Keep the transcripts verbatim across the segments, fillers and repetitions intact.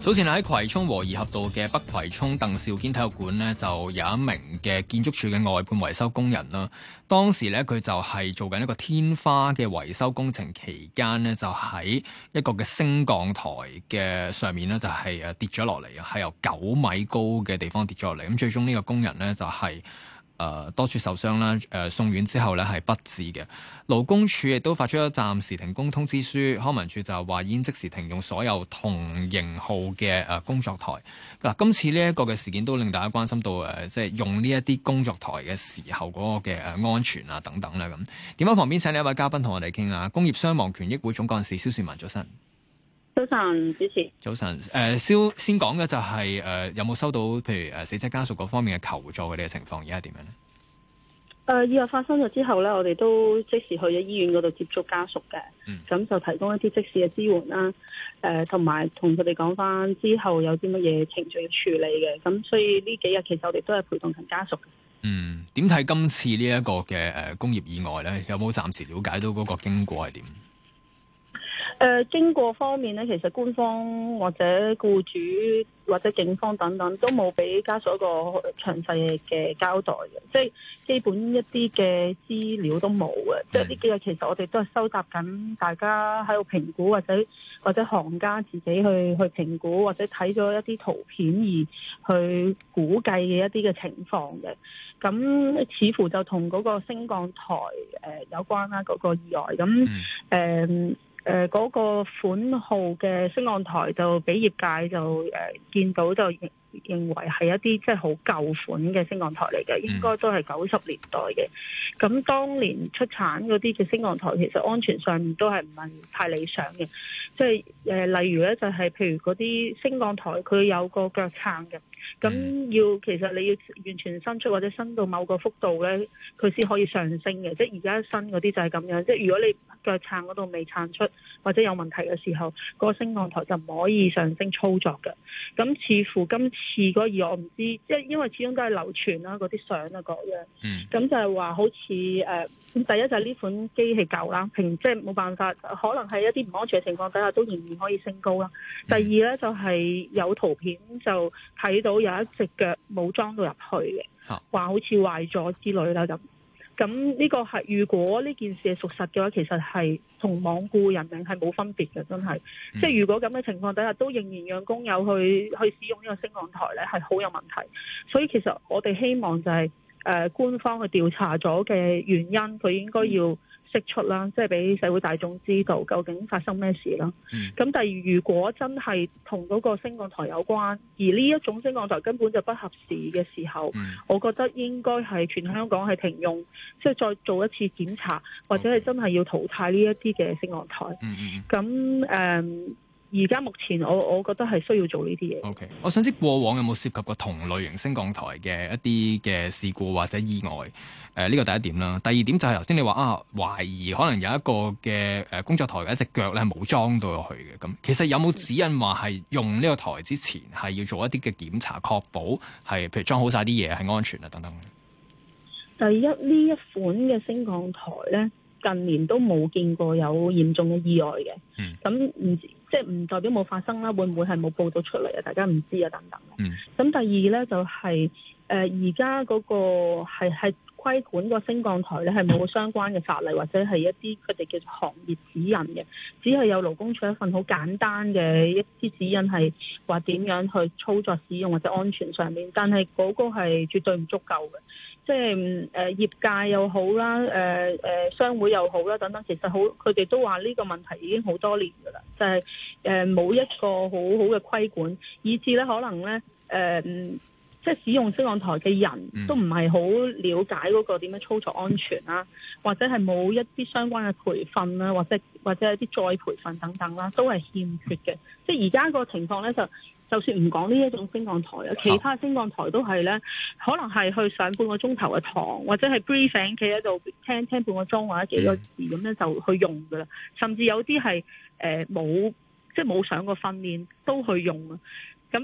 早前喺葵涌和宜合道嘅北葵涌鄧肇堅體育館呢，就有一名嘅建築署嘅外判維修工人啦。當時呢，佢就係做緊一個天花嘅維修工程期間呢，就喺一個嘅升降台嘅上面呢，就係誒跌咗落嚟啊，係由九米高嘅地方跌咗落嚟。咁最終呢個工人呢，就係、是。誒、呃、多處受傷啦，誒、呃、送院之後咧係不治嘅。勞工處亦都發出咗暫時停工通知書，康文署就話已經即時停用所有同型號嘅誒、呃、工作台。嗱、呃，今次呢一個嘅事件都令大家關心到誒、呃，即係用呢一啲工作台嘅時候嗰個嘅誒安全啊等等啦咁。電話旁邊請呢一位嘉賓同我哋傾下，工業傷亡權益會總幹事蕭倩文，早晨。 早晨，主持。 早晨，誒、呃，蕭先講嘅就係、是、誒、呃，有冇收到譬如誒死者家屬嗰方面嘅求助嘅呢個情況，而家係點樣咧？ 誒、呃，意外發生咗之後咧，我哋都即時去咗醫院嗰度接觸家屬嘅，咁、嗯、就提供一啲即時嘅支援啦，誒、呃，同埋同佢哋講翻之後有啲乜嘢程序要處理嘅，咁所以呢幾日其實我哋都係陪同緊家屬。 嗯，點睇今次呢一個嘅誒工業意外咧？有冇暫時了解到嗰個經過係點？ 誒、呃，經過方面咧，其實官方或者僱主或者警方等等都冇俾家屬一個詳細嘅交代嘅，即係基本一啲嘅資料都冇嘅。即係呢幾日其實我哋都係收集緊大家喺度評估，或者或者行家自己去去評估，或者睇咗一啲圖片而去估計嘅一啲嘅情況嘅。咁似乎就同嗰個升降台誒、呃、有關啦，嗰、嗰個意外咁誒。嗯誒嗰、呃那個款號嘅升降台就俾業界就誒、呃、見到就認認為係一啲即係好舊款嘅升降台嚟嘅，應該都係九十年代嘅。咁當年出產嗰啲嘅升降台，其實安全上面都係唔係太理想嘅。即係誒，例如咧就係、是、譬如嗰啲升降台，佢有個腳撐嘅。咁要其實你要完全伸出或者伸到某個幅度咧，佢先可以上升嘅。即係而家新嗰啲就係咁樣。即係如果你腳撐嗰度未撐出或者有問題嘅時候，嗰個升降台就唔可以上升操作嘅。咁似乎今次嗰個意外我唔知，即係因為始終都係流傳啦，嗰啲相啊各樣。嗯。咁就係話好似誒、呃，第一就係呢款機器舊啦，平即係冇辦法，可能係一啲唔安全嘅情況底下都仍然可以升高啦。第二咧就係、是、有圖片就睇到。有一隻腳冇裝到入去嘅，話好似壞咗之類啦咁。咁呢個係如果呢件事係屬實嘅話，其實係同罔顧人命係冇分別嘅，真係。嗯、即係如果咁嘅情況底下，都仍然讓工友去去使用呢個升降台咧，係好有問題。所以其實我哋希望就係、是、誒、呃、官方去調查咗嘅原因，佢應該要釋出啦，即係俾社會大眾知道究竟發生咩事啦。咁、嗯、但係如果真係同嗰個升降台有關，而呢一種升降台根本就不合時嘅時候，嗯、我覺得應該係全香港係停用，即係再做一次檢查，或者係真係要淘汰呢一啲嘅升降台。咁誒、嗯。而家目前我我覺得係需要做呢啲嘢。 O、okay. K， 我想知過往有冇涉及過同類型升降台嘅一啲嘅事故或者意外？誒、呃，呢個第一點啦。第二點就係頭先你話啊，懷疑可能有一個嘅誒工作台嘅一隻腳咧冇裝到落去嘅。咁其實有冇指引話係用呢個台之前係要做一啲嘅檢查，確保係譬如裝好晒啲嘢係安全啊等等？ 第一呢一款嘅升降台咧，近年都冇見過有嚴重嘅意外嘅。咁唔、嗯、即係唔代表冇發生啦，會唔會係冇報道出嚟啊？大家唔知啊，等等。咁、嗯、第二咧就係誒而家嗰個係係規管個升降台咧，係冇相關嘅法例或者係一啲佢哋叫做行業指引嘅，只係有勞工處一份好簡單嘅一啲指引，係話點樣去操作使用或者安全上面，但係嗰個係絕對唔足夠嘅。即係誒、呃、業界又好啦，誒、呃、誒、呃、商會又好啦，等等，其實好佢哋都話呢個問題已經好多年㗎啦，就係誒冇一個好好嘅規管，以至咧可能咧誒、呃、即係使用升降台嘅人都唔係好了解嗰個點樣操作安全啦，或者係冇一啲相關嘅培訓啦，或者或者一啲再培訓等等啦，都係欠缺嘅。即係而家個情況咧就。就算唔講呢一種升降台啊，其他升降台都係咧，可能係去上半個鐘頭嘅堂，或者係 briefing 企喺度聽聽半個鐘或者幾個字咁樣就去用噶啦。甚至有啲係誒冇即係冇上過訓練都去用啊。咁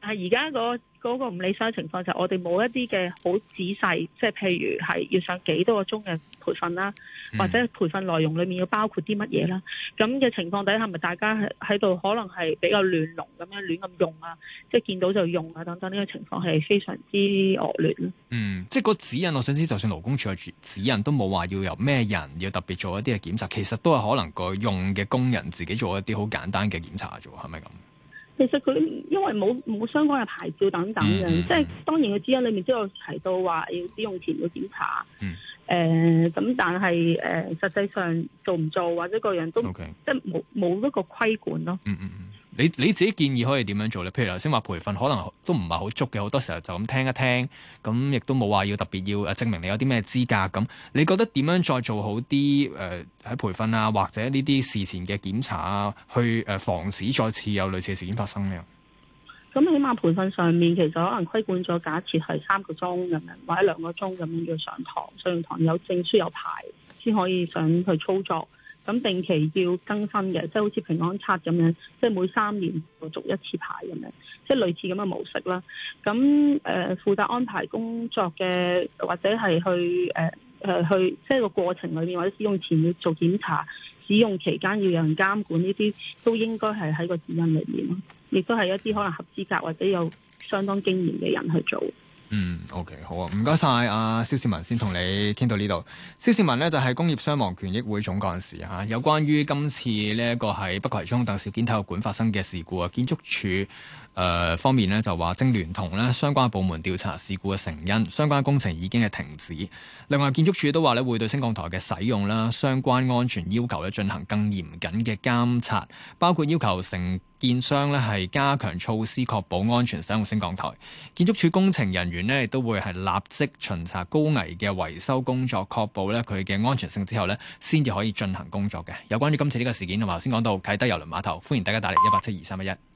係而家嗰嗰個唔理想嘅情況就係我哋冇一啲嘅好仔細，即係譬如係要上幾多個鐘嘅培訓啦，或者培訓內容裡面要包括啲乜嘢啦。咁嘅情況底下，咪大家喺喺度可能係比較亂龍咁樣亂咁用啊，即係見到就用啊等等，呢個情況係非常之惡劣咯。 嗯，即係個指引，我想知，就算勞工處嘅指引都冇話要由咩人要特別做一啲嘅檢查，其實都係可能個用嘅工人自己做一啲好簡單嘅檢查啫喎，係咪咁？ 其實佢因為冇冇相關嘅牌照等等嘅，嗯嗯、即係當然嘅指引裏面都有提到話要使用前要檢查。嗯。誒咁、呃，但係誒、呃、實際上做唔做或者個人都 Okay. 即係冇冇一個規管咯。 嗯嗯嗯。你你自己建議可以點樣做咧？譬如頭先話培訓可能都唔係好足嘅，好多時候就咁聽一聽，咁亦都冇話要特別要誒證明你有啲咩資格咁。你覺得點樣再做好啲誒喺培訓啊，或者呢啲事前嘅檢查啊，去誒防止再次有類似嘅事件發生呢？ 咁起碼培訓上面其實可能規管咗，假設係三個鐘咁樣，或者兩個鐘咁樣要上堂，上完堂有證書有牌先可以上去操作。咁定期要更新嘅，即係好似平安卡咁樣，即係每三年就續一次牌咁樣，即係類似咁嘅模式啦。咁誒、呃、負責安排工作嘅，或者係去誒誒、呃、去，即係個過程裏面或者使用前要做檢查，使用期間要有人監管，呢啲都應該係喺個指引裏面咯。亦都係一啲可能合資格或者有相當經驗嘅人去做。 嗯 ，OK， 好啊，唔該晒阿蕭倩文，先同你傾到呢度。蕭倩文呢就係、是、工業傷亡權益會總幹事啊，有關於今次呢一個喺北葵涌鄧肇堅體育館發生嘅事故啊，建築署誒、呃、方面呢就話正聯同呢相關部門調查事故嘅成因，相關工程已經係停止。另外建築署都話呢會對升降台嘅使用啦、相關安全要求咧進行更嚴謹嘅監察，包括要求承建商咧係加強措施，確保安全使用升降台。建築署工程人員咧亦都會係立即巡查高危嘅維修工作，確保咧佢嘅安全性之後咧，先至可以進行工作嘅。有關於今次呢個事件，同埋頭先講到啟德郵輪碼頭，歡迎大家打嚟一八七二三一一。